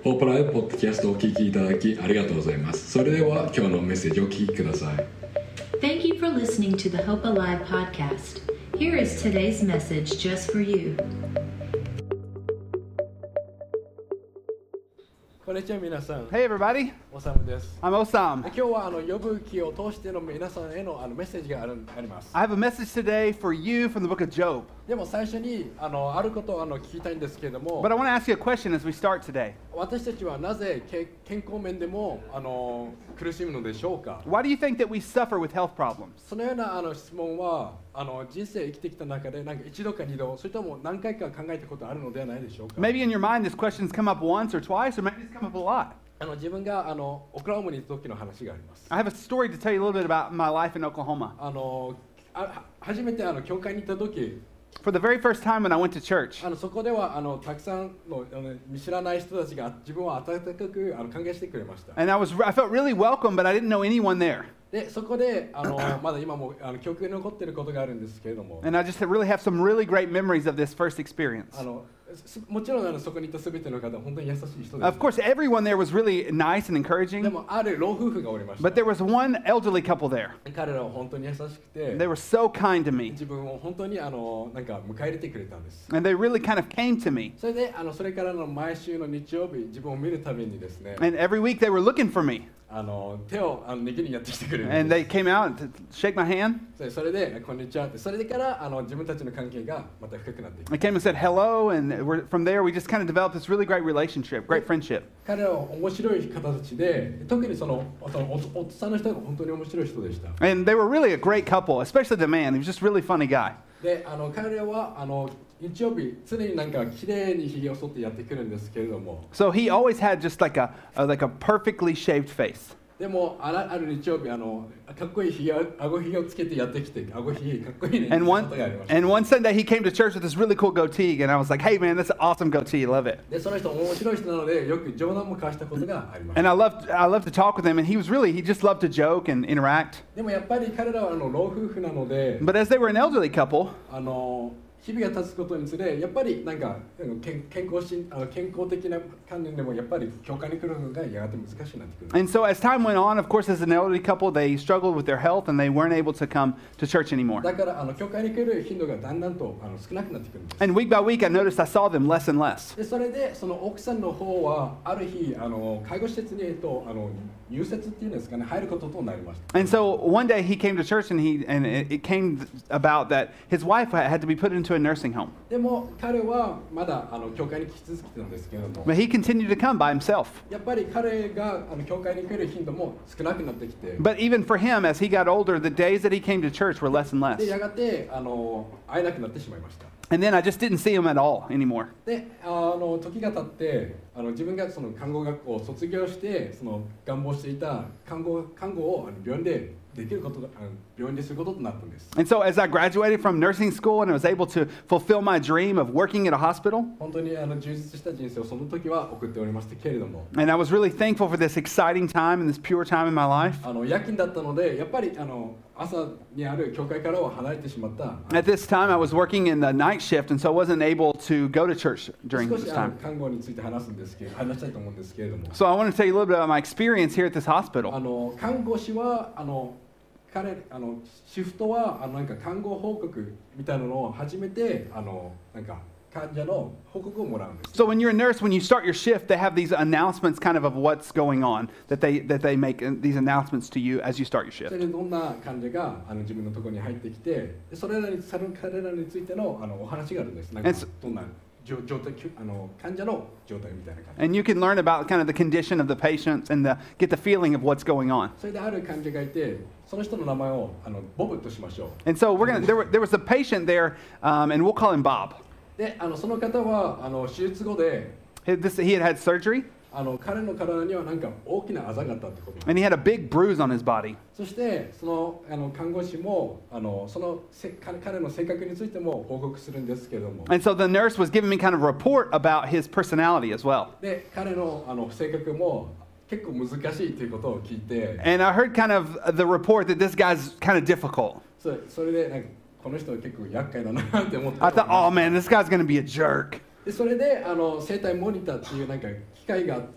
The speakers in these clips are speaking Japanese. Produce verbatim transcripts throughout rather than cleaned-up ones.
ホープライブポッドキャストをお聞きいただきありがとうございます。それでは今日のメッセージをお聞きください。 Thank you for listening to the Hope Alive podcast. Here is today's message just for you. こんにちは皆さん。 Hey everybody, おさむです。 I'm Osam. 今日はあの呼ぶ記を通しての皆さんへのあのメッセージがあるあります。 I have a message today for you from the book of Job. でも最初にあのあることをあの聞きたいんですけれども、 But I want to ask you a question as we start today. 私たちはなぜけ健康面でもあの苦しむのでしょうか。 Why do you think that we suffer with health problems? そのようなあの質問はあの人生生きてきた中でなんか一度か二度、それとも何回か考えたことあるのではないでしょうか。 Maybe in your mind this question's come up once or twice, or maybe it's come up a lot. あの自分があのオクラホマに行った時の話があります。 I have a story to tell you a little bit about my life in Oklahoma. あのあ初めてあの教会に行った時、 For the very first time when I went to church, あのそこではあのたくさんのあの見知らない人たちが自分を温かくあの歓迎してくれました。 and I was I felt really welcome, but I didn't know anyone there. でそこであのまだ今もあの記憶に残っていることがあるんですけれども、 And I just really have some really great memories of this first experience. あのすもちろんあのそこにいたすべての方は本当に優しい人です。 Of course, everyone there was really nice and で encouraging, もある老夫婦がおりました。 but there was one elderly couple there. 彼らは本当に優しくて、 They were so kind to me, 自分を本当にあのなんか迎え入れてくれたんです。 and they really kind of came to me. それであのそれからの毎週の日曜日、自分を見るためにですね、 And every week they were looking for me, あの手をあの握りにやってきてくれるん and で they came out to shake my hand. す。それでこんにちはって、それからあの自分たちの関係がまた深くなっていく。 They came and said hello, and we're, from there we just kind of developed this really great relationship, great friendship. 彼らは面白い方たちで、特にそのそのお夫さんの人が本当に面白い人でした。 And they were really a great couple, especially the man. He was just a really funny guy. で、あの彼らはあの日曜日常になんか綺麗にひげを剃ってやってくるんですけれども、 So he always had just like a, a like a perfectly shaved face. でもあらある日曜日あのかっこいいひげ、顎ひげをつけてやってきて、顎ひげかっこいいねって And こ one とがありました。 and one Sunday he came to church with this really cool goatee, and I was like, "Hey man, that's an awesome goatee. Love it." で、その人面白い人なのでよく冗談も交わしたことがありまし And た。 I loved I loved to talk with him, and he was really he just loved to joke and interact. でもやっぱり彼らはあの老夫婦なので、 But as they were an elderly couple, あの日々が経つことにつれ、やっぱりなんか健健康しあの健康的な観念でもやっぱり教会に来るのがやがて難しくなってくる。 and so as time went on, of course, as an elderly couple, they struggled with their health, and they weren't able to come to church anymore. だからあの教会に来る頻度がだんだんとあの少なくなってくるんです。 And week by week, I noticed I saw them less and less. でそれでその奥さんの方はある日あの介護施設にえっとあの入設っていうんですかね、入ることとなりました。 And so one day he came to church, and he and it, it came about that his wife had to be put into a nursing home. でも彼はまだあの教会に来続けてたんですけれども、 But he continued to come by himself. やっぱり彼があの教会に来る頻度も少なくなってきて、 But even for him, as he got older, the days that he came to church were less and で less. やがてあの会えなくなってしまいました。 And then I just didn't see him at all anymore. であの時が経ってあの自分がその看護学校を卒業してその願望していた看護看護をあの病院でできることがあの病院ですることとなったんです。 And so as I graduated from nursing school and I was able to fulfill my dream of working at a hospital, 本当にあの充実した人生をその時は送っておりましたけれども、 and I was really thankful for this exciting time and this pure time in my life. あの夜勤だったのでやっぱりあの朝にある教会からは離れてしまった。 At this time, I was working in the night shift, and so I wasn't able to go to church during 少 this しあの time. 看護について話すんですけど、話したいと思うんですけれども、 So I want to tell you a little bit about my experience here at this あ hospital. の看護師はあの彼あのシフトはあのなんか看護報告みたいなのを始めてあのなんか患者の報告をもらうんです。 So when you're a nurse, when you start your shift, they have these announcements kind of of what's going on, that they that they make uh, these announcements to you as you start your それ shift. でどんな患者があの自分のところに入ってきて、でそれらにその彼らについてのあのお話があるんです。なんか And so- どんな状状態あの患者の状態みたいな感じ。 And you can learn about kind of the condition of the patients and the, get the feeling of what's going on. それである患者がいて、その人の名前をあのボブとしましょう。 And so we're gonna there, were, there was a patient there, um, and we'll call him Bob. で、あのその方はあの手術後で He, this, he had had surgery, あの彼の体にはなんか大きなあざがあったってことなんです。 and he had a big bruise on his body. そしてそのあの看護師もあのそのせ彼彼の性格についても報告するんですけれども、 And so the nurse was giving me kind of a report about his personality as well. で彼のあの性格も結構難しいということを聞いて、 And I heard kind of the report that this guy's kind of difficult. そそれでなんかこの人は結構厄介だなって思って。 I thought, oh man, this guy's going to be a jerk. でそれであの生体モニターっていうなんか機械があって、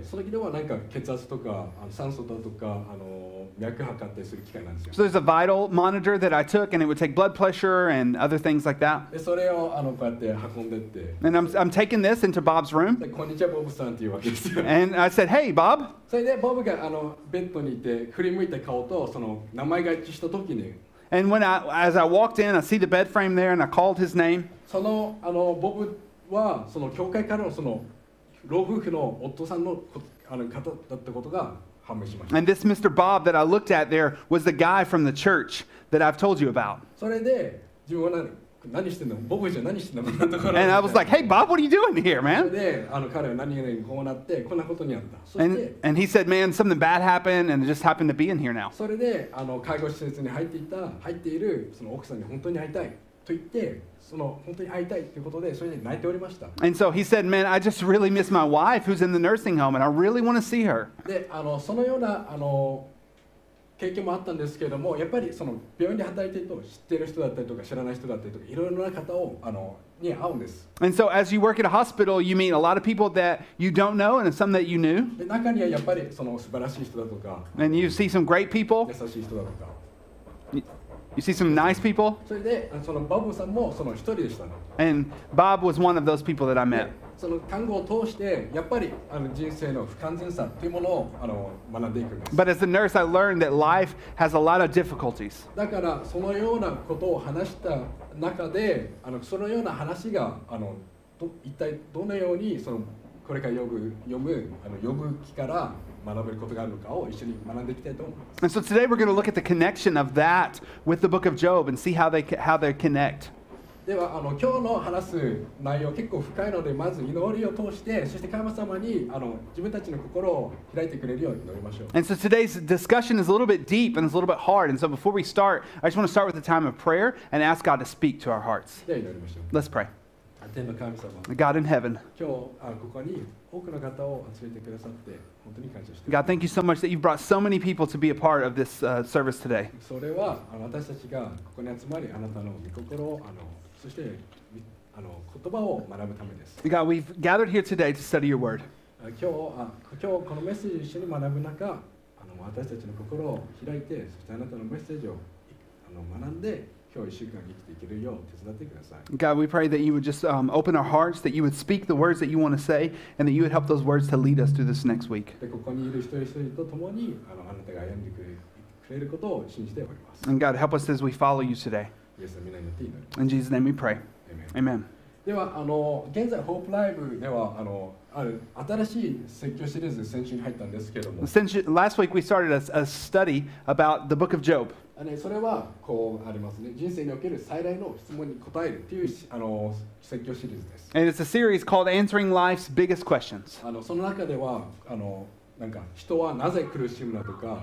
その時ではなんか血圧とかあの酸素だとかあの脈測ったりする機械なんですよ。 So there's a vital monitor that I took, and it would take blood pressure and other things like that. でそれをあのこうやって運んでって、 And I'm, I'm taking this into Bob's room, でこんにちはボブさんっていうわけですよ。 and I said, hey, Bob. それでボブがあのベッドにいて振り向いた顔とその名前が一致した時に、 And when I, as I walked in, I see the bed frame there, and I called his name. そのあのボブはその教会からのその老夫婦の夫さんのこあの方だったことが判明しました。 And this Mister Bob that I looked at there was the guy from the church that I've told you about. それで自分は何何してんのボブじゃ何してんのこんなところ And I was like, hey, Bob, what are you doing here, それ man? であの彼は何々こうなってこんなことにあった。そし And, て and he said, man, something bad happened, and it just happened to be in here now. それであの介護施設に入っていた入っているその奥さんに本当に会いたいと言ってその本当に会いたいということでそれで泣いておりました。 And so he said, man, I just really miss my wife who's in the nursing home, and I really want to see her. であのそのようなあの経験もあったんですけれども、やっぱりその病院で働いていると知っている人だったりとか知らない人だったりとかいろいろな方をあのに会うんです。 And so as you work at a hospital, you meet a lot of people that you don't know and some that you knew. で中にはやっぱりその素晴らしい人だとか And you see some great people. 優しい人だとか、 You see some nice people. それでそのボブさんもその一人でしたの。 And Bob was one of those people that I で met. その看護を通してやっぱりあの人生の不完全さというものをあの学んでいくんです。 But as a nurse, I learned that life has a lot of difficulties. だからそのようなことを話した中であのそのような話があのど一体どのようにそのこれから読む読むあの読む気から学べることがあるのかを一緒に学んでいきたいと思います。 And so today we're going to look at the connection of that with the book of Job and see how they how they connect. ではあの今日の話す内容結構深いのでまず祈りを通してそして神様にあの自分たちの心を開いてくれるように祈りましょう。 And so today's discussion is a little bit deep and it's a little bit hard. And so before we start, I just want to start with a time of prayer and ask God to speak to our hearts. では祈りましょう。 Let's pray. 天の神様、 God in heaven, 今日あここに多くの方を集めてくださって本当に感謝してい God, thank you so much that you've brought so many people to be a part of this uh, service today. それはあの私たちがここに集まりあなたの御心をあのそしてあの言葉を学ぶためです。 God, we've gathered here today to study your word. あ今日あ今日このメッセージを一緒に学ぶ中、あの私たちの心を開いてそしてあなたのメッセージをあの学んで今日一週間生きていけるよう手伝ってください。 God, we pray that you would just um, open our hearts, that you would speak the words that you want to say, and that you would help those words to lead us through this next week. でここにいる一人一人と共にあのあなたが歩んでくれくれることを信じております。 And God, help us as we follow you today. イエスの皆によって祈ります。 In Jesus' name we pray. Amen. ではあの現在ホープライブではあのある新しい説教シリーズ先週に入ったんですけれども、 Since you- last week we started a, a study about the book of Job. あのそれはこうありますね。人生における最大の質問に答えるというあの説教シリーズです。 And it's a series called Answering Life's Biggest Questions. あのその中ではあのなんか人はなぜ苦しむのとか、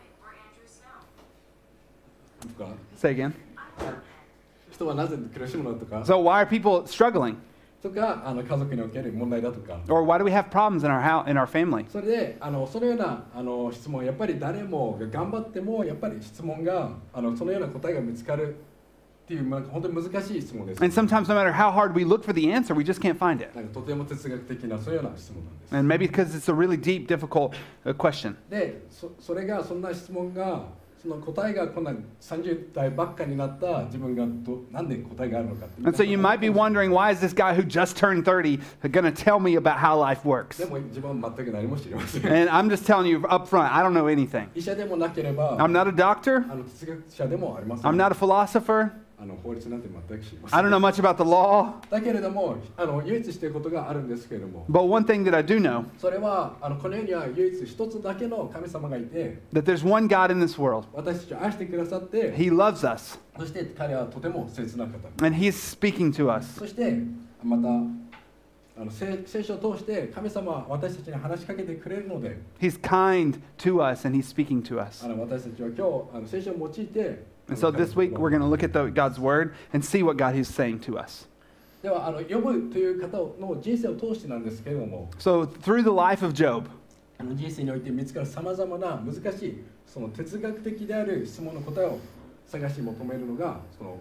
とか Say again. 人はなぜ苦しむのとか、 So why are people struggling? とかあの家族における問題だとか。 Or why do we have problems in our house, in our family? それであのそのようなあの質問やっぱり誰もが頑張ってもやっぱり質問があのそのような答えが見つかるっていう、まあ、本当に難しい質問です。 And sometimes no matter how hard we look for the answer, we just can't find it. なんかとても哲学的なそういうような質問なんです。 And maybe because it's a really deep, difficult uh, question. でそそれがそんな質問がその答えがこんなさんじゅう代ばっかになった自分がどなんで答えがあるのかって。 And so you might be wondering, why is this guy who just turned thirty going to tell me about how life works? でも自分は全く何も知りません。 And I'm just telling you up front, I don't know anything. 医者でもなければ、 I'm not a doctor. あの哲学者でもありません。 I'm not a philosopher. あの法律なんて全く知りませ I ん。 don't know much about the law. だけれどもあの唯一していることがあるんですけれども、 But one thing that I do know, それはあのこの世には唯一一つだけの神様がいて、 that there's one God in this world. 私たちを愛してくださって、 He loves us. そして彼はとても切な方。 And He's speaking to us. そしてまたあの聖聖書を通して神様は私たちに話しかけてくれるので、 He's kind to us and He's speaking to us. あの私たちは今日あの聖書を用いて、 And so this week we're going to look at the, God's Word and see what God is saying to us. ではあの呼ぶという方の人生を通してなんですけれども、 So through the life of Job, あの人生において見つかるさまざまな難しいその哲学的である質問の答えを探し求めるのがその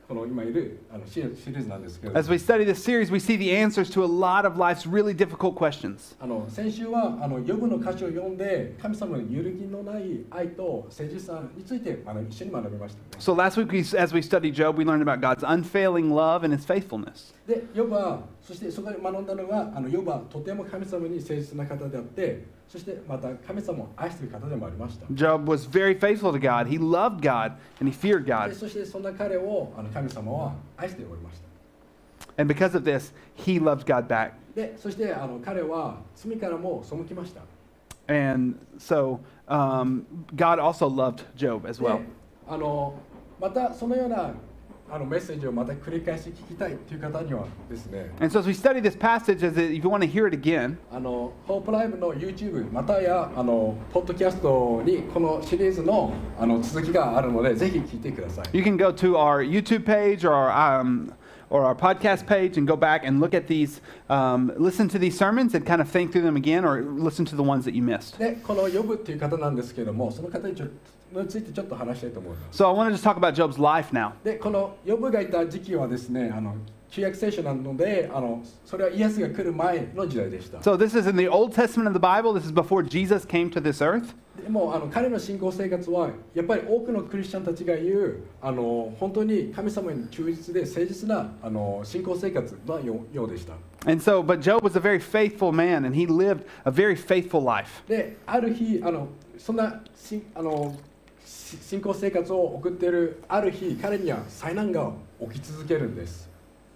この今いるあのシリシリーズなんですけれど As we study this series, we see the answers to a lot of life's really difficult questions. あの先週はあのヨブの歌詞を読んで神様の揺るぎのない愛と誠実さについてあの一緒に学びました、ね。 So last week, we, as we studied Job, we learned about God's unfailing love and his faithfulness. で、ヨブはそしてそこで学んだのがあのヨブはとても神様に誠実な方であって、そしてまた神様を愛している方でもありました。 Job was very faithful to God. He loved God and he feared で God. そしてそんな彼をあの神様は愛しておりました。 And because of this, he loved God back. で、そしてあの彼は罪からも背きました。 And so um, God also loved Job as で well. あのまたそのようなあのメッセージをまた繰り返し聞きたいという方にはですね、 And so as we study this passage, as it, if you want to hear it again, あのホープライブの YouTube またやあのポッドキャストにこのシリーズのあの続きがあるのでぜひ聞いてください。 you can go to our YouTube page or our, um, or our podcast page and go back and look at these, um, listen to these sermons and kind of think through them again or listen to the ones that you missed. で、このヨブっていう方なんですけれども、その方にちょについてちょっと話したいと思います。 So I want to just talk about Job's life now. で、このヨブがいた時期はですね、あの旧約聖書なので、あのそれはイエスが来る前の時代でした。 So this is in the Old Testament of the Bible. This is before Jesus came to this earth. でもあの彼の信仰生活はやっぱり多くのクリスチャンたちが言うあの本当に神様に忠実で誠実なあの信仰生活のようようでした。 And so, but Job was a very faithful man, and he lived a very faithful life. で、ある日あのそんなしあのし信仰生活を送っているある日彼には災難が起き続けるんです。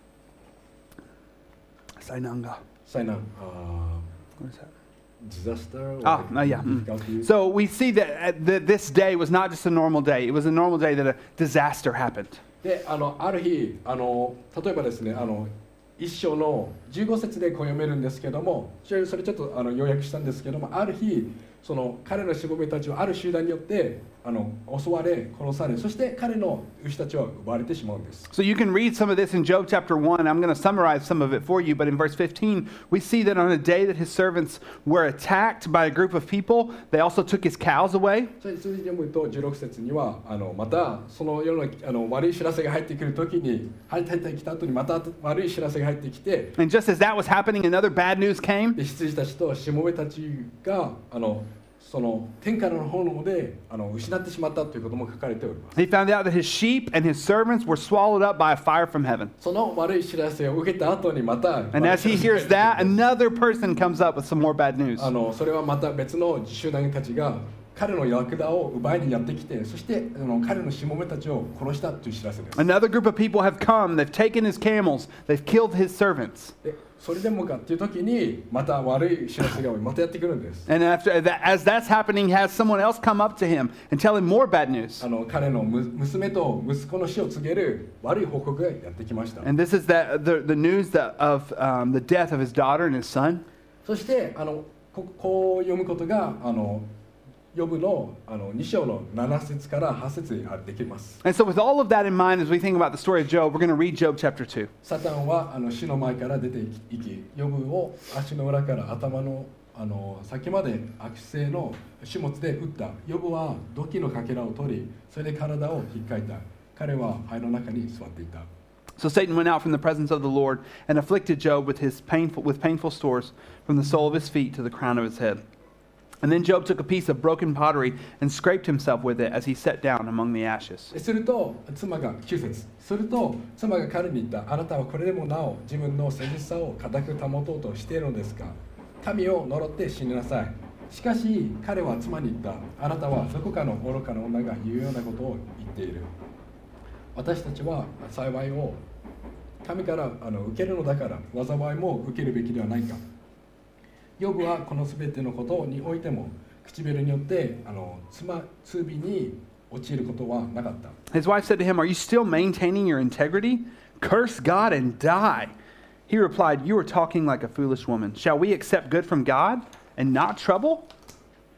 Sainanga. 災難、あ What is that? ー、disaster Ah, uh, yeah. mm. So we see that, uh, that this day was not just a normal day. It was a normal day that a disaster happened. で、あのある日あの例えばですね、あの一章のじゅうご節でこう読めるんですけども、それそれちょっとあの要約したんですけども、ある日その彼のしもべたちはある集団によってあの襲われ殺され、そして彼の牛たちは奪われてしまうんです。 So you can read some of this in Job chapter one. I'm going to summarize some of it for you. But in verse fifteen, we see that on a day that his servants were attacked by a group of people, they also took his cows away. それに続いて読むとじゅうろく節にはあのまたその世のあの悪い知らせが入ってくる時に入ってきた後にまた悪い知らせが入ってきて、 And just as that was happening, another bad news came. で羊たちとしもべたちがあのその天からの炎であの失ってしまったということも書かれております。 He found out that his sheep and his servants were swallowed up by a fire from heaven. その悪い知らせを受けた後にまた And as he hears that, another person comes up with some more bad news. あのそれはまた別の集団たちが彼のラクダを奪いにやってきて、そしてあの彼のしもべたちを殺したという知らせです。 Another group of people have come, they've taken his camels, they've killed his servants. でそれでもかっていう時にまた悪い知らせがまたやってくるんです。 And after that, as that's happening, has someone else come up to him and tell him more bad news. あの彼のむ娘と息子の死を告げる悪い報告がやってきました。 And this is that, the, the news that, of um, the death of his daughter and his son. そしてあの こ, こう読むことがあのヨブのあのに章のなな節からはち節にできます。 And so with all of that in mind, as we think about the story of Job, we're going to read Job chapter two. サタンはあの死の前から出ていき、ヨブを足の裏から頭のあの先まで悪性の種物で撃った。ヨブは土器のかけらを取り、それで体を引っかいた。彼は灰の中に座っていた。 So Satan went out from the presence of the Lord and afflicted Job with his painful with painful sores from the sole of his feet to the crown of his head. And then Job took a piece of broken pottery and scraped himself with it as he sat down among the ashes. すると妻がきゅう節すると妻が彼に言った。あなたはこれでもなお自分の誠実さを固く保とうとしているのですか。神を呪って死になさい。しかし彼は妻に言った。あなたはどこかの愚かな女が言うようなことを言っている。私たちは幸いを神からあの受けるのだから災いも受けるべきではないか。ヨブはこのすべてのことにおいても唇によってあの妻罪に陥ることはなかった。 His wife said to him, "Are you still maintaining your integrity? Curse God and die." He replied, "You are talking like a foolish woman. Shall we accept good from God and not trouble?"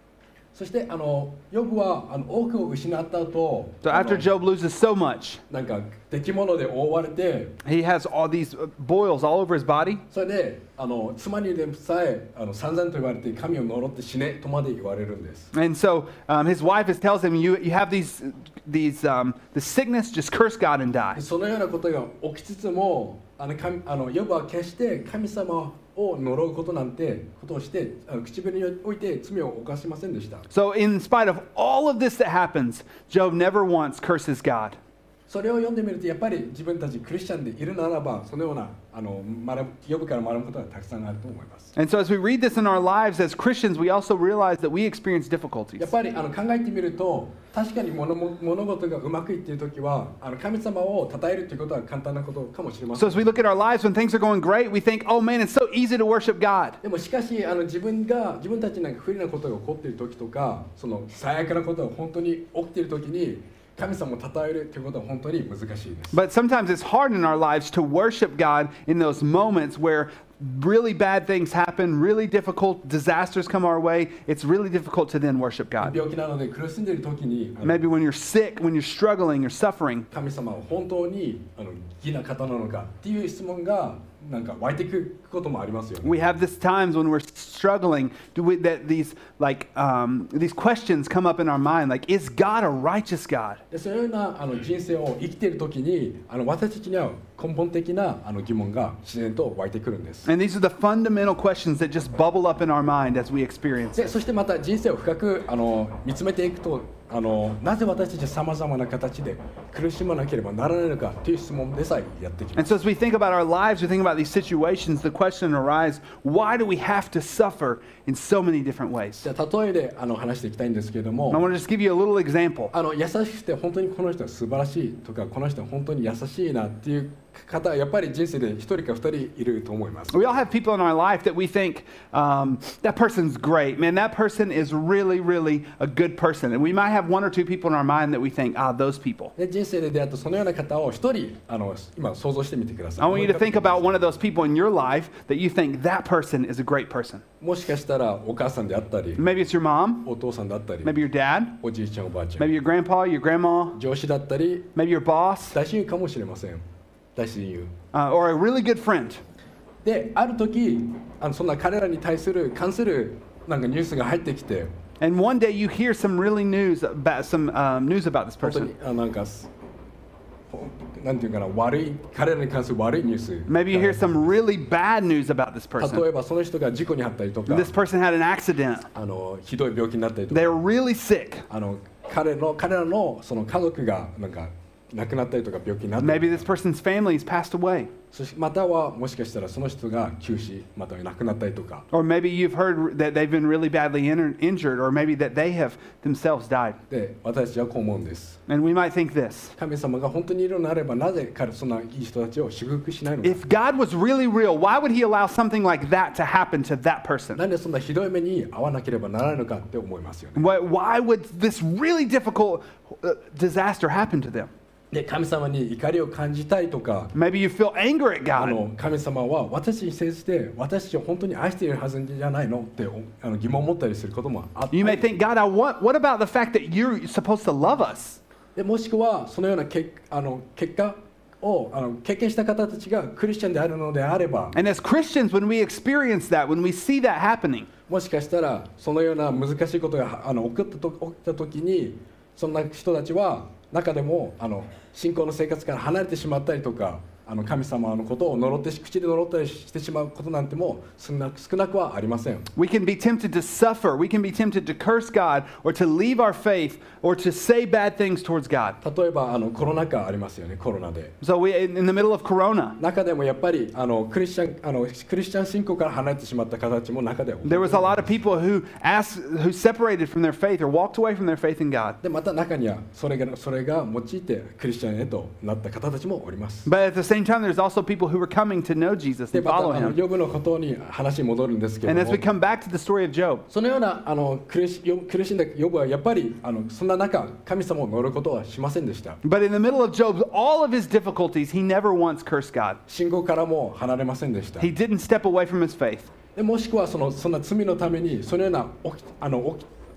そしてあのヨブはあの多くを失った後、 So あ after の Job loses so much, なんか敵物で覆われて、 he has all these boils all over his body. それであの妻にでさえあの散々と言われて神を呪って死ねとまで言われるんです。 And so um, his wife is, tells him, you, you have these, these um, the sickness, just curse God and die. そのようなことが起きつつも、あの神あのヨブは決して神様を呪うことなんてことをしてあの唇において罪を犯しませんでした。 So in spite of all of this that happens, Job never once curses God. それを読んでみるとやっぱり自分たちクリスチャンでいるならばそのようなあの学ぶヨブから学ぶことがたくさんあると思います。 And so as we read this in our lives as Christians, we also realize that we experience difficulties. やっぱりあの考えてみると確かに物も物事がうまくいっているときはあの神様を称えるということは簡単なことかもしれませ So ん。 as we look at our lives when things are going great, we think, oh man, it's so easy to worship God. でもしかしあの自分が自分たちなんか不利なことが起こっているときとかその最悪なことが本当に起きているときに神様を称えるということは本当に難しいです。 But sometimes it's hard in our lives to worship God in those moments where really bad things happen, really difficult disasters come our way. It's really difficult to then worship God. 病気なので苦しんでいるときにあの Maybe when you're sick, when you're struggling, you're suffering. 神様は本当にあの義な方なのかっていう質問がなんか湧いてくることもありますよね。 We have this times when we're struggling, do we, that these like um, these questions come up in our mind, like, is God a righteous God? でそういうようなあの人生を生きているときにあの私たちには根本的なあの疑問が自然と湧いてくるんです。 And these are the fundamental questions that just bubble up in our mind as we experience で it. そしてまた人生を深くあの見つめていくとあのなぜ私たちはさまざまな形で苦しまなければならないのかという質問でさえやってきま And す。 so as we think about our lives, we think about these situations, the question arises, why do we have to suffer in so many different ways? じゃあ例えであの話していきたいんですけれど And I も want to just give you a little example. あの優しくて本当にこの人は素晴らしいとかこの人は本当に優しいなっていう方はやっぱり人生で一人か二人いると思います。 We all have people in our life that we think, um, that person's great. Man, that person is really, really a good person. And we might have one or two people in our mind that we think, ah, those people. で人生で出会ったそのような方を一人あの今想像してみてください。 I want you to think about one of those people in your life that you think that person is a great person. もしかしたらお母さんであったり Maybe it's your mom, お父さんだったり maybe your dad, おじいちゃんおばあちゃん maybe your grandpa, your grandma, 上司だったり maybe your boss, 大親友かもしれません。大親友 uh, or a really good friend. である時あのそんな彼らに対する関するなんかニュースが入ってきて And one day you hear some really news about some um, news about this 本当 person. にあなんかほなんていうかな悪い彼らに関する悪いニュース Maybe you hear some really bad news about this 例 person. えばその人が事故に遭ったりとか This person had an accident. あのひどい病気になったりとか They're really sick. あの彼の彼らのその家族がなんか亡くなったりとか病気になったり Maybe this person's family has passed away. そしてまたはもしかしたらその人が急死または亡くなったりとか Or maybe you've heard that they've been really badly in- injured, or maybe that they have themselves died. で私たちはこう思うんです。 And we might think this. 神様が本当にいるのであればなぜ彼そんないい人たちを祝福しないのか If God was really real, why would he allow something like that to happen to that person? なんでそんなひどい目に遭わなければならないのかって思いますよね。 Why, why would this really difficult uh, disaster happen to them? で神様に怒りを感じたいとか Maybe you feel anger at あ God. の神様は私に接して私たちを本当に愛しているはずじゃないのってあの疑問を持ったりすることもあって You may think, God, I want, what about the fact that you're supposed to love us? でもしくはそのようなけあの結果をあの経験した方たちがクリスチャンであるのであれば And as Christians, when we experience that, when we see that happening, もしかしたらそのような難しいことがあの起こったと起きた時にそんな人たちは中でもあの信仰の生活から離れてしまったりとかあの神様のことを呪って口で呪ったりしてしまうことなんても少なく少なくはありません。 we can be tempted to suffer. We can be tempted to curse God or to leave our faith or to say bad things towards God. 例えばあのコロナ禍ありますよね、コロナで。 So we, in, in the middle of Corona, 中でもやっぱりあのクリスチャンあのクリスチャン信仰から離れてしまった方たちも中では there was a lot of people who asked, who separated from their faith or walked away from their faith in God. でまた中にはそれがそれが用いてクリスチャンへとなった方たちもおります。 But at the same time, there's also people who were coming to know Jesus で and また follow あの him. ヨブのことに話に戻るんですけれ And ど as we も、 come back to the story of Job, そのようなあの苦しヨブ苦しんだヨブはやっぱりあのそんな中神様を呪うことはしませんでした。 but in the middle of Job's all of his difficulties, he never once cursed God. 信仰からも離れませんでした。 He didn't step away from his faith. でもしくはそのそんな罪のためにそのような起きあの起き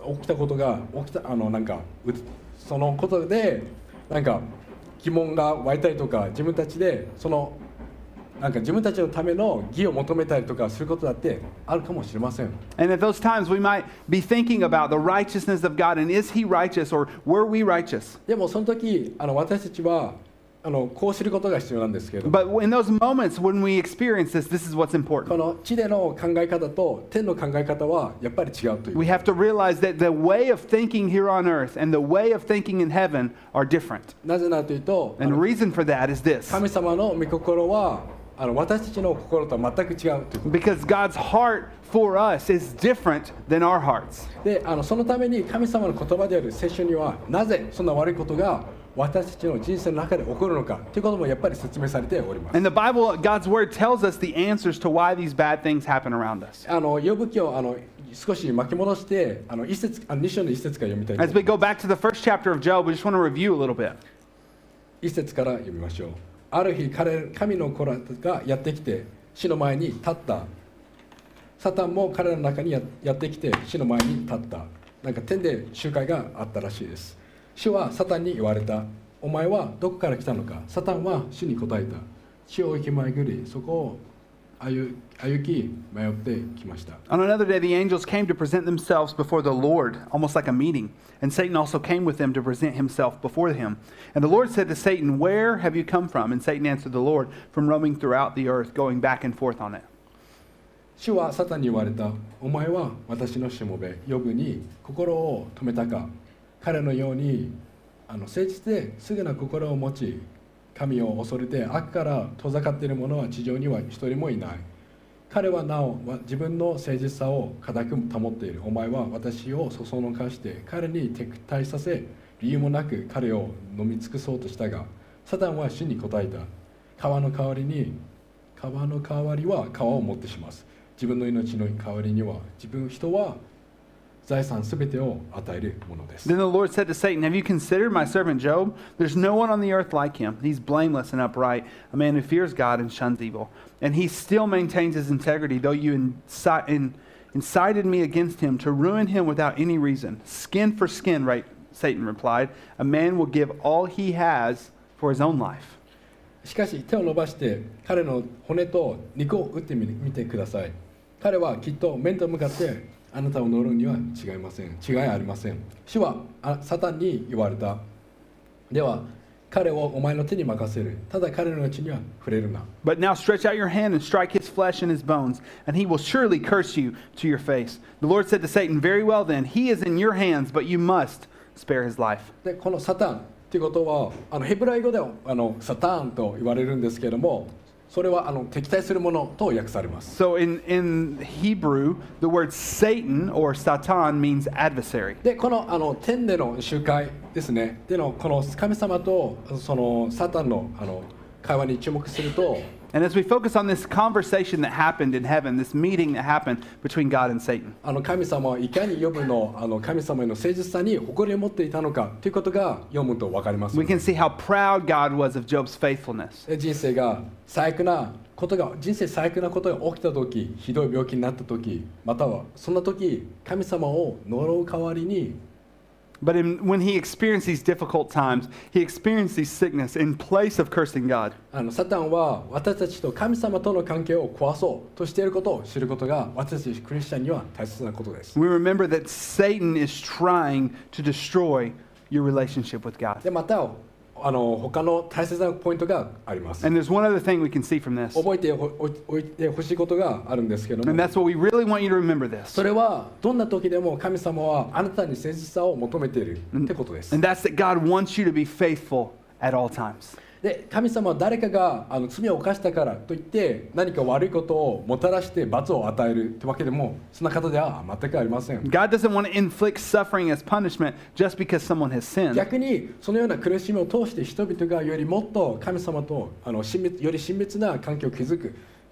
起きたことが起きたあのなんかうそのことでなんか疑問が湧いたりとか自分たちでそのなんか自分たちのための義を求めたりとかすることだってあるかもしれません。 And at those times, we might be thinking about the righteousness of God and is He righteous or were we righteous? でもその時あの私たちはあのこう知ることが必要なんですけど、 But in those moments when we experience this, this is what's こ important. の地での考え方と天の考え方はやっぱり違うという。 We have to realize that the way of thinking here on earth and the way of thinking in heaven are different. なぜならというと、あ And the の reason for that is this. 神様の御心はあの私たちの心とは全く違うということ。 Because God's heart for us is different than our hearts. であのそのために神様の言葉である聖書にはなぜそんな悪いことが私たちの人生の中で起こるのかということもやっぱり説明されております。 And the Bible, God's word tells us the answers to why these bad things happen around us. あの呼ぶ記をあの少し巻き戻してあの一節あのに章の一節から読みたいと As 思い we ます。 go back to the first chapter of Job, we just want to review a little bit. 一節から読みましょう。ある日彼神の子らがやってきて死の前に立った。サタンも彼らの中にややってきて死の前に立った。なんか天で集会があったらしいです。主はサタンに言われた。お前はどこから来たのか。サタンは主に答えた。地を行き巡り、そこを歩歩き迷ってきました。 On another day, the angels came to present themselves before the Lord, almost like a meeting. And Satan also came with them to present himself before him. And the Lord said to Satan, "Where have you come from?" And Satan answered the Lord, "From roaming throughout the earth, going back and forth on it." 主はサタンに言われた。お前は私のしもべ、ヨブに心を止めたか。彼のようにあの誠実ですぐな心を持ち、神を恐れて悪から遠ざかっている者は地上には一人もいない。彼はなお自分の誠実さを固く保っている。お前は私をそそのかして彼に敵対させ、理由もなく彼を飲み尽くそうとしたが、サタンは主に答えた。川の代わりに川の代わりは川を持ってします。自分の命の代わりには自分人は財産すべてを与えるものです。 Then the Lord said to Satan, "Have you considered my servant Job? There's no one on the earth like him. He's blameless and upright, a man who fears God and shuns evil. And he still maintains his integrity, though you inci- in, incited me against him to ruin him without any reason. Skin for skin," right? Satan replied. "A man will give all he has for his own life." しかし手を伸ばして彼の骨と肉を打ってみみてください。彼はきっと面と向かってあなたを呪うには違いません。違いありません。主はあサタンに言われた。では彼をお前の手に任せる。ただ彼のうちには触れるな。 But now stretch out your hand and strike his flesh and his bones, and he will surely curse you to your face. The Lord said to Satan, "Very well then, he is in your hands, but you must spare his life." でこのサタンということはあのヘブライ語ではあのサタンと言われるんですけれども、それはあの敵対するものと訳されます。 So in, in Hebrew, the word Satan or Satan means adversary. でこのあの天での集会ですね。でのこの神様とそのサタンのあの会話に注目すると。 And as we focus on this conversation that happened in heaven, this meeting that happened between God and Satan, あの神様はいかにヨブのあの神様への誠実さに誇りを持っていたのかということが読むと分かります。 we can see how proud God was of Job's faithfulness. で人生が最悪なことが人生最悪なことが起きた時、ひどい病気になった時、またはそんな時神様を呪う代わりに But in, when he experienced these difficult times, he experienced these sickness in place of cursing God. あのサタンは私たちと神様との関係を壊そうとしていることを知ることが私たちクリスチャンには大切なことです。 We remember that Satan is trying to destroy your relationship with God. でまたあの他の大切なポイントがあります。 And there's one other thing we can see from this. 覚えておいてほしいことがあるんですけど And も、 that's what we really want you to remember this. それはどんな時でも神様はあなたに誠実さを求めているってことです。 And that's that God wants you to be faithful at all times. で神様は誰かがあの罪を犯したからといって何か悪いことをもたらして罰を与えるってわけでもそんな方では全くありません。 God doesn't want to inflict suffering as punishment just because someone has sinned. 逆にそのような苦しみを通して人々がよりもっと神様とあの親密より親密な関係を築く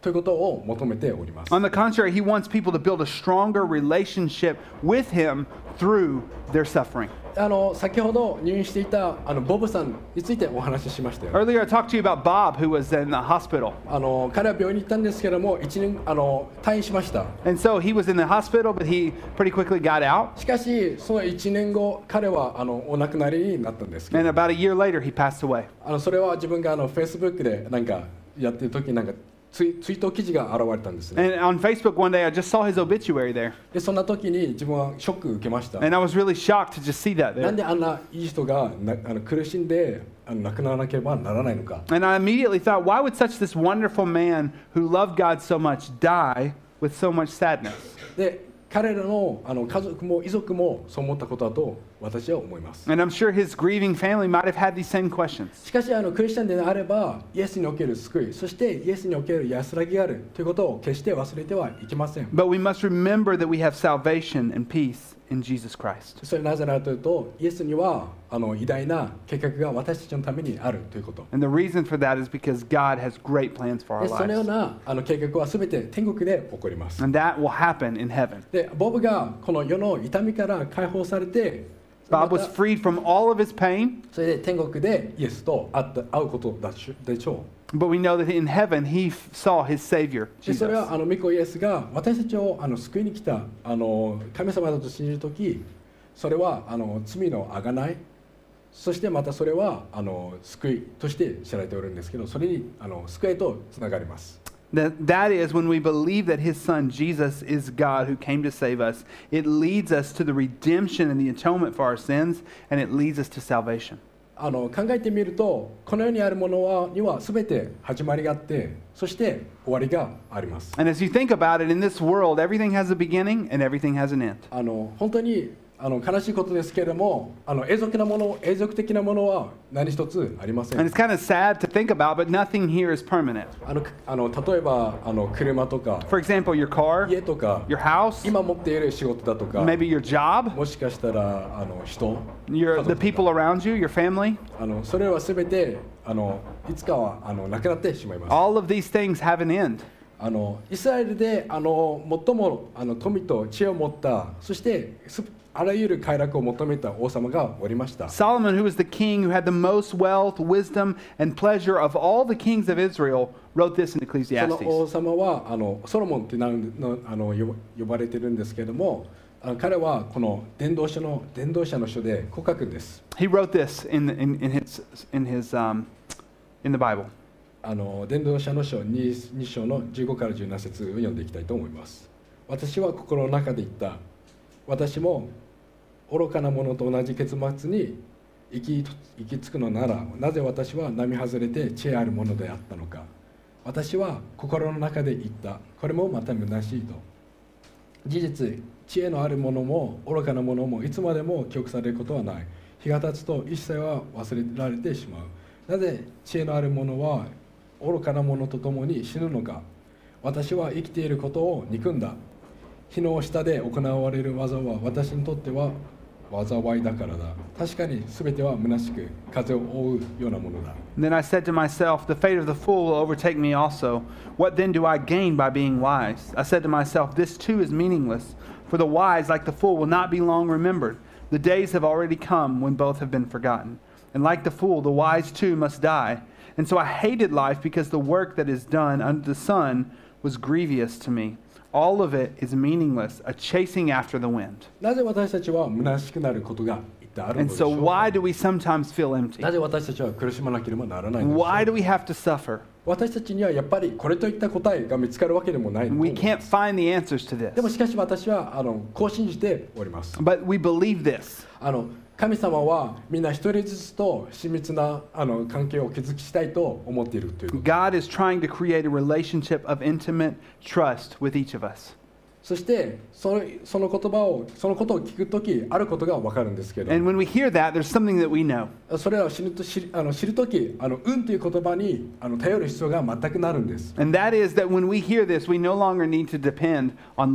ということを求めております。 On the contrary, he wants people to build a stronger relationship with him through their suffering. あの先ほど入院していたあのボブさんについてお話ししましたよ。 Earlier, I talked to you about Bob, who was in the hospital. あの彼は病院に行ったんですけども、いちねんあの退院しました。 And so he was in the hospital, but he pretty quickly got out. しかし、そのいちねんご、彼はあのお亡くなりになったんですけど、 And about a year later, he passed away. あのそれは自分があの Facebook でなんかやってる時になんかツイ、ツイート記事が現れたんですね。 And on Facebook one day, I just saw his obituary there. で、そんな時に自分はショック受けました。 And I was really shocked to just see that なん there. であんないい人がなあの苦しんであの亡くならなければならないのか。 And I immediately thought, why would such this wonderful man who loved God so much die with so much sadness? で、彼らの、あの家族も遺族もそう思ったことだと私は思います。 And I'm sure his grieving family might have had these same questions. しかしあのクリスチャンであればイエスにおける救い、そしてイエスにおける安らぎがあるということを決して忘れてはいけません。 But we must remember that we have salvation and peace in Jesus Christ. それはなぜならというと、イエスにはあの偉大な計画が私たちのためにあるということ。 And the reason for that is because God has great plans for our でそのよう lives. なあの計画はすべて天国で起こります。 And that will happen in heaven. で、ボブがこの世の痛みから解放されて、 Bob ま was た freed from all of his pain, それで天国でイエスと会った会うことだしでしょう。 but we know that in heaven he f- saw his Savior, でそれ Jesus. はあの御子イエスが私たちをあの救いに来たあの神様だと信じるとき、それはあの罪のあがない、そしてまたそれはあの救いとして知られておるんですけど、それにあの救いとつながります。 That, that is when we believe that his son Jesus is God who came to save us, it leads us to the redemption and the atonement for our sins, and it leads us to salvation. あの考えてみると、この世にあるものはには全て始まりがあって、そして終わりがあります。 And as you think about it, in this world, everything has a beginning and everything has an end. あの本当にあの悲しいことですけれども、あの永続なもの、永続的なものは何一つありませ And ん。 it's kind of sad to think about, but nothing here is permanent. あのあの例えばあの車とか For example, your car, 家とか your house, 今持っている仕事だとか、 maybe your job, もしかしたらあの人、 your, 家 the 族と people か around you, your family. あのそれはすべてあのいつかはあのなくなってしまいます。 All of these things have an end. あのイスラエルであの最もあの富と知恵を持った、そしてすあらゆる快楽を求めた王様がおりました。 Solomon, who was the king who had the most wealth, wisdom, and pleasure of all the kings of Israel, wrote this in その王 Ecclesiastes. 様はあのソロモンってなのあの呼呼ばれてるんですけれども、あの彼はこの伝道書の伝道者の書でこう書くんです。 He wrote this in, in, in his, in his um, in the Bible. あの伝道者の書 に, に章のじゅうごからじゅうなな節を読んでいきたいと思います。私は心の中で言った。私も愚かな者と同じ結末に行き行き着くのなら、なぜ私は並外れて知恵あるものであったのか。私は心の中で言った。これもまた虚しいと。事実、知恵のあるものも愚かなものもいつまでも記憶されることはない。日が経つと一切は忘れられてしまう。なぜ知恵のあるものは愚かなものと共に死ぬのか。私は生きていることを憎んだ。火の下で行われる技は私にとっては災いだからだ。確かに全ては虚しく風を覆うようなものだ。 And then I said to myself, the fate of the fool will overtake me also. What then do I gain by being wise? I said to myself, this too is meaningless. For the wise, like the fool, will not be long remembered. The days have already come when both have been forgotten. And like the fool, the wise too must die. And so I hated life because the work that is done under the sun was grievous to me. All of it is meaningless, a chasing after the wind. なぜ私たちは虚しくなることが一体あるの And でしょ so う why か。 do we sometimes feel empty? なぜ私たちは苦しまなければならないのでしょう Why do we have to suffer? 私たちにはやっぱりこれといった答えが見つかるわけでもないの We で can't find the answers to でも this. しかし私はあのこう信じております。 But we believe this. あの神様はみんな一人ずつと親密なあの関係を築きしたいと思っているということ。 God is trying to create a relationship of intimate trust with each of us. そしてそのその言葉をそのことを聞くときあることが分かるんですけど、 And when we hear that, there's something that we know. それらを知ると知るあの知るときあの運という言葉にあの頼る必要が全くなるんです。 And that is that when we hear this, we no longer need to depend on luck.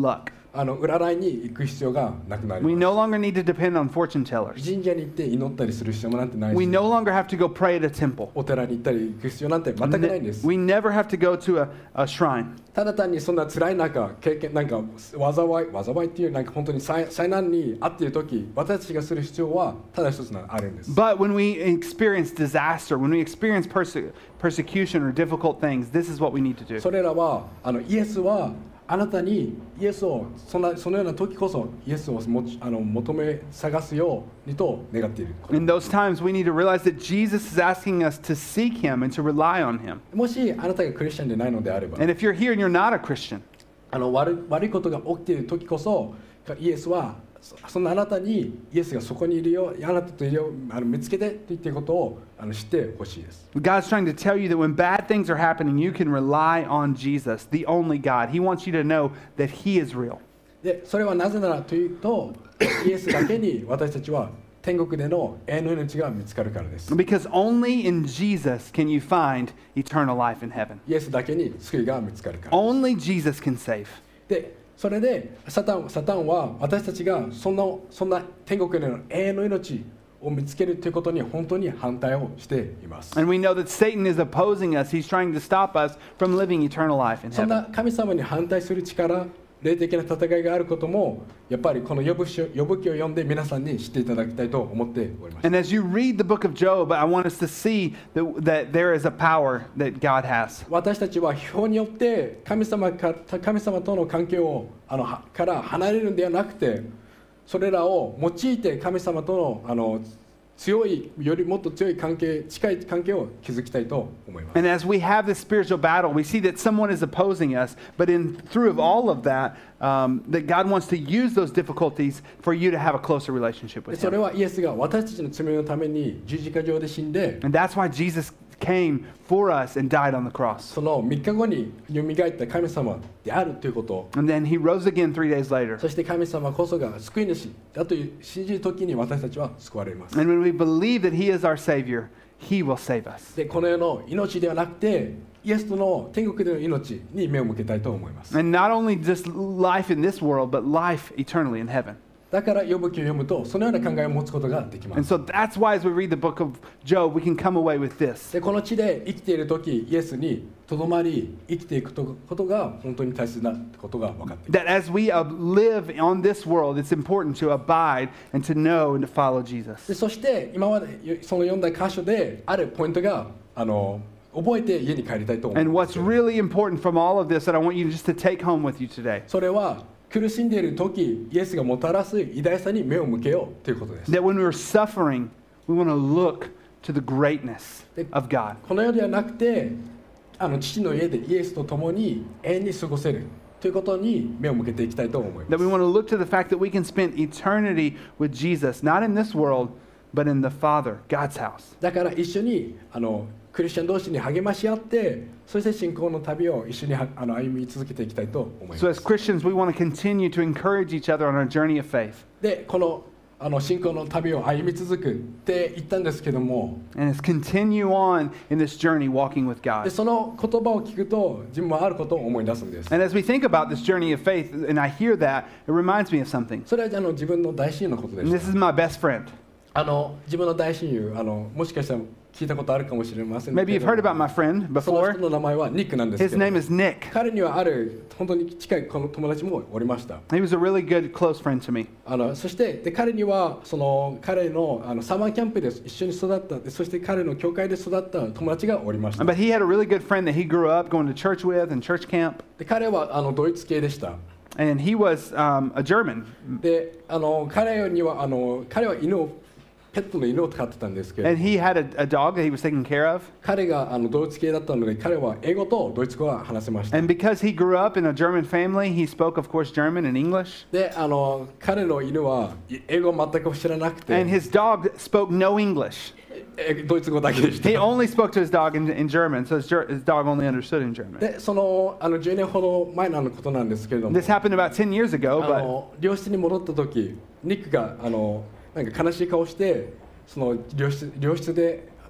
あの占いに行く必要がなくなり We ます。 no longer need to depend on fortune tellers. 神社に行って祈ったりする必要もなんてない We し、 no longer have to go pray at a temple. お寺に行ったり行く必要なんて全くないんです。 We never have to go to a, a shrine. ただ単にそんな辛い中、経験なんか災い災いっていうなんか本当に災災難にあっている時、私たちがする必要はただ一つあるんです。 But when we experience disaster, when we experience perse- persecution or difficult things, this is what we need to do. それらはあのイエスはあなたにイエスをそんなそのような時こそイエスをもちあの求め探すようにと願っている。 In those times, we need to realize that Jesus is asking us to seek Him and to rely on Him. もしあなたがクリスチャンでないのであれば、 And if you're here and you're not a Christian, あの悪い悪いことが起きている時こそイエスはそそのあなたにイエスがそこにいるよ、あなたといるよ、あの見つけてと言っていることをあの知ってほしいです。 God's trying to tell you that when bad things are happening, you can rely on Jesus, the only God. He wants you to know that He is real. でそれはなぜならというと、イエスだけに私たちは天国での永遠の命が見つかるからです。 Because only in Jesus can you find eternal life in heaven. イエスだけに救いが見つかるから。 Only Jesus can save. でそれでサタン、サタンは私たちがそんな、そんな天国での永遠の命を見つけるということに本当に反対をしています。 And we know that Satan is opposing us. He's trying to stop us from living eternal life in そん heaven. な神様に反対する力、霊的な戦いがあることもやっぱりこの呼ぶ書、呼ぶ記を読んで皆さんに知っていただきたいと思っております。 And as you read the book of Job, I want us to see that, that there is a power that God has. 私たちは表によって神様か神様との関係をあのはから離れるんではなくて、それらを用いて神様とのあの強いよりもっと強い関係、近い関係を築きたいと思います。 And as we have this spiritual battle, we see that someone is opposing us, but in through of all of that, um, that God wants to use those difficulties for you to have a closer relationship で with それ Him. はイエスが私たちの罪のために十字架上で死んで、 And that's why Jesus came for us and died on the cross. そのみっかごによみがえった神様であるということ、 And then He rose again three days later. そして神様こそが救い主だという信じるときに私たちは救われます。 And when we believe that He is our Savior, He will save us. でこの世の命ではなくてイエスとの天国での命に目を向けたいと思います。 And not only just life in this world, but life eternally in heaven. だから呼ぶ記を読むとそのような考えを持つことができま And す。 so that's why as we read the book of Job, we can come away with this. でこの地で生きている時イエスにとどまり生きていくことが本当に大切なことが分かっています。 That as we uh, live on this world, it's important to abide and to know and to follow で Jesus. そして今までその読んだ箇所であるポイントがあの覚えて家に帰りたいと思い And ま what's す。 really important from all of this that I want you just to take home with you today, それは苦しんでいる時イエスがもたらす偉大さに目を向けようということです。 that when we're suffering, we want to look to the greatness of God. この世ではなくてあの父の家でイエスと共に永遠に過ごせるということに目を向けていきたいと思いま That す。 we want to look to the fact that we can spend eternity with Jesus, not in this world, but in the Father, God's house. だから一緒にあのクリスチャン同士に励まし合ってそして信仰の旅を一緒にはあの歩み続けていきたいと思いま So as す。 Christians, we want to continue to encourage each other on our journey of faith. でこのあの信仰の旅を歩み続くって言ったんですけども、 And let's continue on in this journey walking with で God. その言葉を聞くと自分もあることを思い出すんです。 And as we think about this journey of faith, and I hear that, it reminds me of something. それはあの自分の大親友のことで And し this た。 is my best friend. あの自分の大親友あのもしかしたら聞いたことあるかもしれませんけ Maybe ど you've heard about my friend その before. 人の名前はニックなんです His けど name is Nick. 彼にはある本当に近いこの友達もおりました。 He was a really good, close friend to me. あのそしてで彼にはその彼のあのサマーキャンプで一緒に育ったでそして彼の教会で育った友達がおりました。 But he had a really good friend that he grew up going to church with and church camp. で彼はあのドイツ系でした。 And he was um, a German. であの彼にはあの彼は犬をペットの犬を飼ってたんですけど And he had a, a dog that he was taking care of. 彼があのドイツ系だったので彼は英語とドイツ語は話せました。 And because he grew up in a German family, he spoke, of course, German and English. であの彼の犬はい英語を全く知らなくて And his dog spoke no English. えドイツ語だけでし He た。 only spoke to his dog in, in German, so his, ger- his dog only understood in German. でそのあのじゅうねんほど前のことなんですけれども This happened about ten years あ ago, but の病室に戻った時ニックがあのなんか悲しい顔してその病室病室で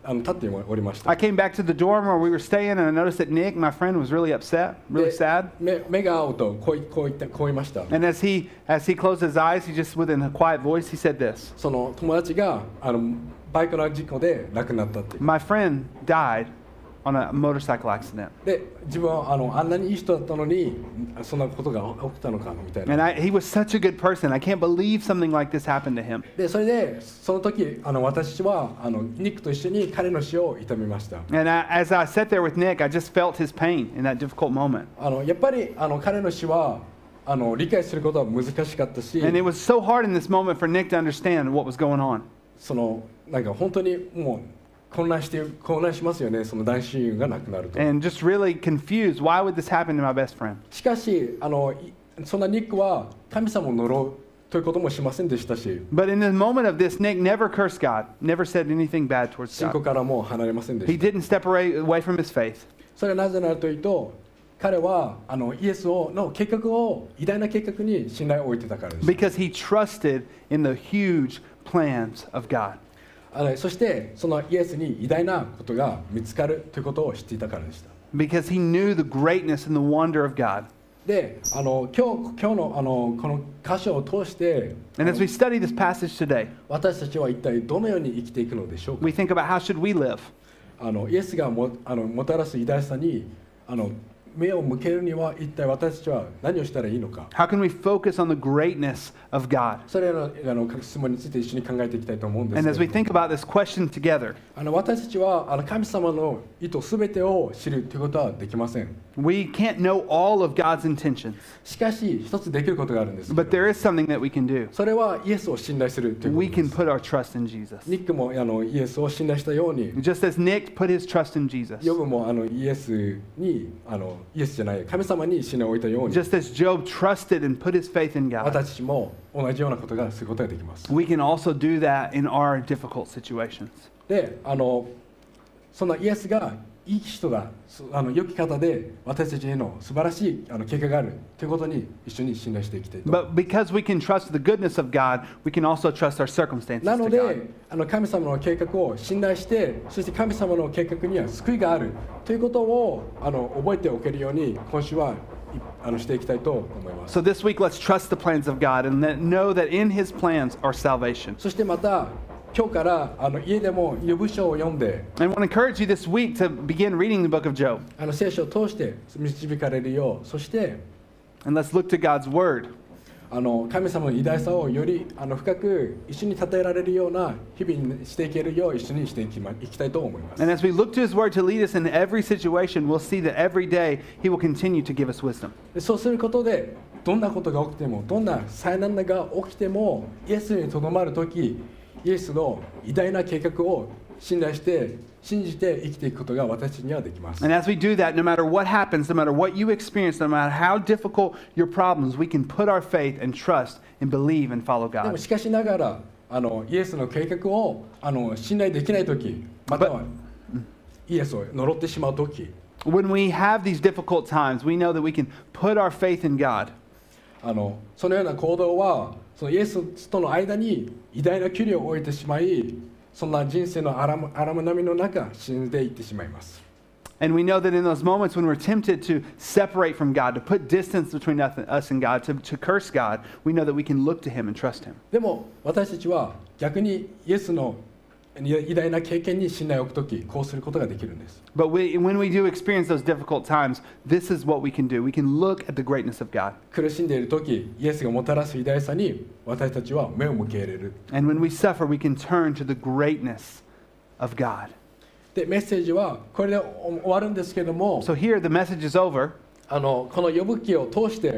あの立っておりました。 I came back to the dorm where we were staying, and I noticed that Nick, my friend, was really upset, really で sad. 目目が合うとこういこう言ったこう言いました。 And as he as he closed his eyes, he just, with a quiet voice, he said this: その友達があのバイクの事故で亡くなったって。 My friend died on a motorcycle accident. で自分はあのあんなにいい人だったのにそんなことが起きたのかみたい And な。 I, he was such a good person. I can't believe something like this happened to him. でそれでその時あの私はあのニックと一緒に彼の死を悼みました。 And I, as I sat there with Nick, I just felt his pain in that difficult moment. あのやっぱりあの彼の死はあの理解することは難しかったし、 And it was so hard in this moment for Nick to understand what was going on. そのなんか本当にもう混乱して混乱しますよね。その男子親友が亡くなると。 And just really confused. Why would this happen to my best friend? しかしあのいそんなニックは神様を呪うということもしませんでしたし、 But in the moment of this, Nick never cursed God, never said anything bad towards 信仰 God. からもう離れませんで He した。 didn't step away, away from his faith それはなぜならというと、彼はあのイエスをの計画を偉大な計画に信頼を置いてたからです。 because he trusted in the huge plans of God. あのそしてそのイエスに偉大なことが見つかるということを知っていたからでした。 Because he knew the greatness and the wonder of God. で、あの今日今日のあのこの箇所を通して、 And as we study this passage today, 私たちは一体どのように生きていくのでしょうか。 we think about how should we live? あのイエスがもあのもたらす偉大さにあの目を向けるには一体私たちは何をしたらいいのか。 How can we focus on the greatness of God? それらのあの質問について一緒に考えていきたいと思うんです And け as ど we think about this question together, あの私たちはあの神様の意図すべてを知るということはできません。 we can't know all of God's intentions, しかし一つできることがあるんですけ but ど、 there is something that we can do. それはイエスを信頼するというこ We とで can す。 put our trust in Jesus. ニックもあのイエスを信頼したように、 Just as Nick put his trust in Jesus. ヨブもあのイエスにあのイエスじゃない神様に信頼を置いたように、 Just as Job trusted and put his faith in God, 私たちも同じようなことがすることができます。 we can also do that in our difficult situations. で、あのそんなイエスがいい人だ、そあの良き方で私たちへの素晴らしいあの結果があるということに一緒に信頼していきたいと。 But because we can trust the goodness of God, we can also trust our circumstances なの to で God. あの神様の計画を信頼して、そして神様の計画には救いがあるということをあの覚えておけるように今週はいあのしていきたいと思います。 So this week, let's trust the plans of God and that, know that in His plans are salvation. そしてまた今日からあの家でも予部書を読んで、 I want to encourage you this week to begin reading the book of Job. あの聖書を通して導かれるよう、そして And let's look to God's word. あの神様の偉大さをよりあの深く一緒に称えられるような日々にしていけるよう一緒にしていき、ま、いきたいと思います。 And as we look to His word to lead us in every situation, we'll see that every day He will continue to give us wisdom. でそうすることでどんなことが起きてもどんな災難が起きてもイエスにとどまるときイエスの偉大な計画を信頼して信じて生きていくことが私たちにはできます。 And as we do that, no matter what happens, no matter what you experience, no matter how difficult your problems, we can put our faith and trust and believe and follow でも God. しかしながらあのイエスの計画をあの信頼できないとき、またはイエスを呪ってしまうとき、 When we have these difficult times, we know that we can put our faith in God. あのそのような行動はそのイエスとの間に偉大な距離を置いてしまい、そんな人生の荒む荒波の中死んでいってしまいます。 And we know that in those moments when we're tempted to separate from God, to put distance between us and God, to, to curse God, we know that we can look to Him and trust Him. でも私たちは逆にイエスの偉大な経験に信頼を置くとき、こうすることができるんです。 But we, when we do experience those difficult times, this is what we can do. We can look at the greatness of God. 苦しんでいるとき、イエスがもたらす偉大さに私たちは目を向けられる。 And when we suffer, we can turn to the greatness of God. で、メッセージはこれで終わるんですけども、 So here, the message is over. あのこの呼ぶ記を通して、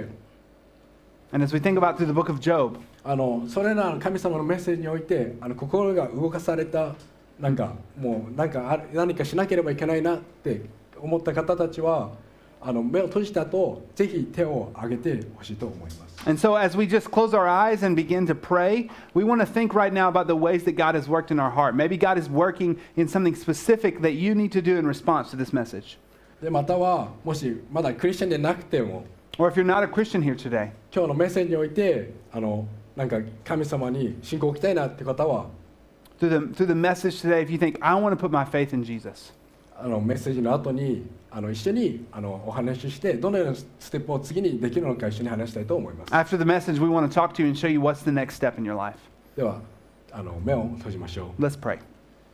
And as we think about through the book of Job, あのそれらの神様のメッセージにおいてあの心が動かされた、なんかもうなんかあ何かしなければいけないなって思った方たちはあの目を閉じた後ぜひ手を挙げてほしいと思います。 and so as we just close our eyes and begin to pray, we want to think right now about the ways that God has worked in our heart. Maybe God is working in something specific that you need to do in response to this message. でまたはもしまだクリスチャンでなくても Or if you're not a Christian here today, 今日のメッセージにおいてあのなんか神様に信仰を置きたいなって方は through the, through the message today, if you think, I want to put my faith in Jesus, あのメッセージの後にあの一緒にあのお話ししてどのようなステップを次にできるのか一緒に話したいと思います。 after the message, we want to talk to you and show you what's the next step in your life. ではあの目を閉じましょう。 Let's pray.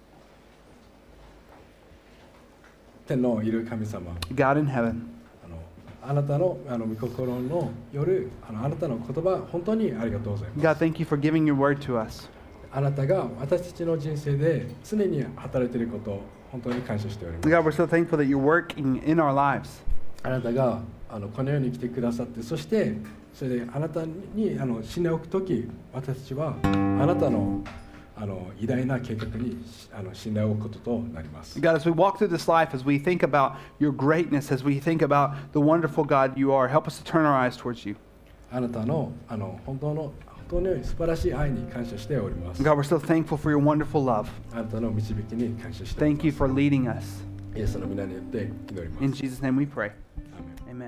天のいる神様、 God in heaven, あのあなたのあの御心の夜、あのあなたの言葉本当にありがとうございます。 God, thank you for giving your word to us. あなたが私たちの人生で常に働いていることを本当に感謝しております。 God, we're so thankful that you're working in our lives. あなたがあのこの世に来てくださって、そしてそれであなたにあの信頼を置くとき、私たちはあなたのあの偉大な計画にあの信頼を置くこととなります。 God, as we walk through this life, as we think about your greatness, as we think about the wonderful God you are, help us to turn our eyes towards you. あなたのあの本当の本当に素晴らしい愛に感謝しております。 God, we're so thankful for your wonderful love. あなたの導きに感謝しておりま Thank す。 you for leading us. イエスの皆によって祈ります。 In Jesus' name we pray. アーメン。 Amen.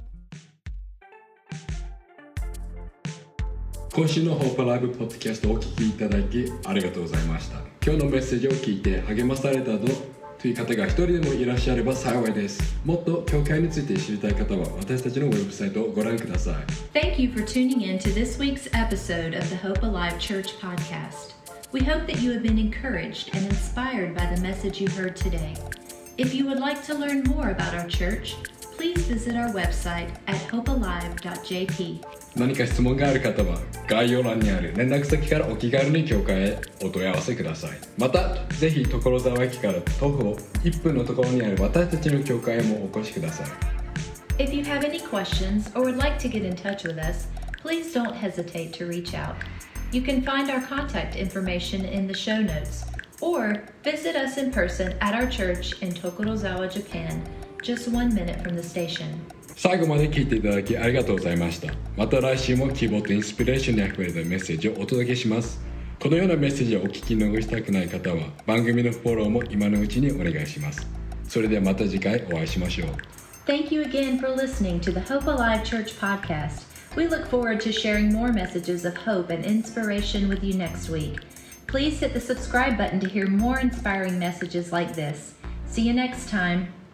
今週のホープライブポッドキャストをお聞きいただきありがとうございました。今日のメッセージを聞いて励まされたという方が一人でもいらっしゃれば幸いです。もっと教会について知りたい方は私たちのウェブサイトをご覧ください。 Thank you for tuning in to this week's episode of the Hope Alive Church podcast. We hope that you have been encouraged and inspired by the message you heard today. If you would like to learn more about our church, please visit our website at hope alive dot j p. 何か質問がある方は概要欄にある連絡先からお気軽に教会へお問い合わせください。またぜひ所沢駅から徒歩いっぷんのところにある私たちの教会へもお越しください。 If you have any questions or would like to get in touch with us, please don't hesitate to reach out. You can find our contact information in the show notes or visit us in person at our church in Tokorozawa, Japan, just one minute from the station. 最後まで聞いていただきありがとうございました。また来週も希望とインスピレーションにあふれたメッセージをお届けします。このようなメッセージをお聞き逃したくない方は番組のフォローも今のうちにお願いします。それではまた次回お会いしましょう。 Thank you again for listening to the Hope Alive Church podcast. We look forward to sharing more messages of hope and inspiration with you next week. Please hit the subscribe button to hear more inspiring messages like this. See you next time.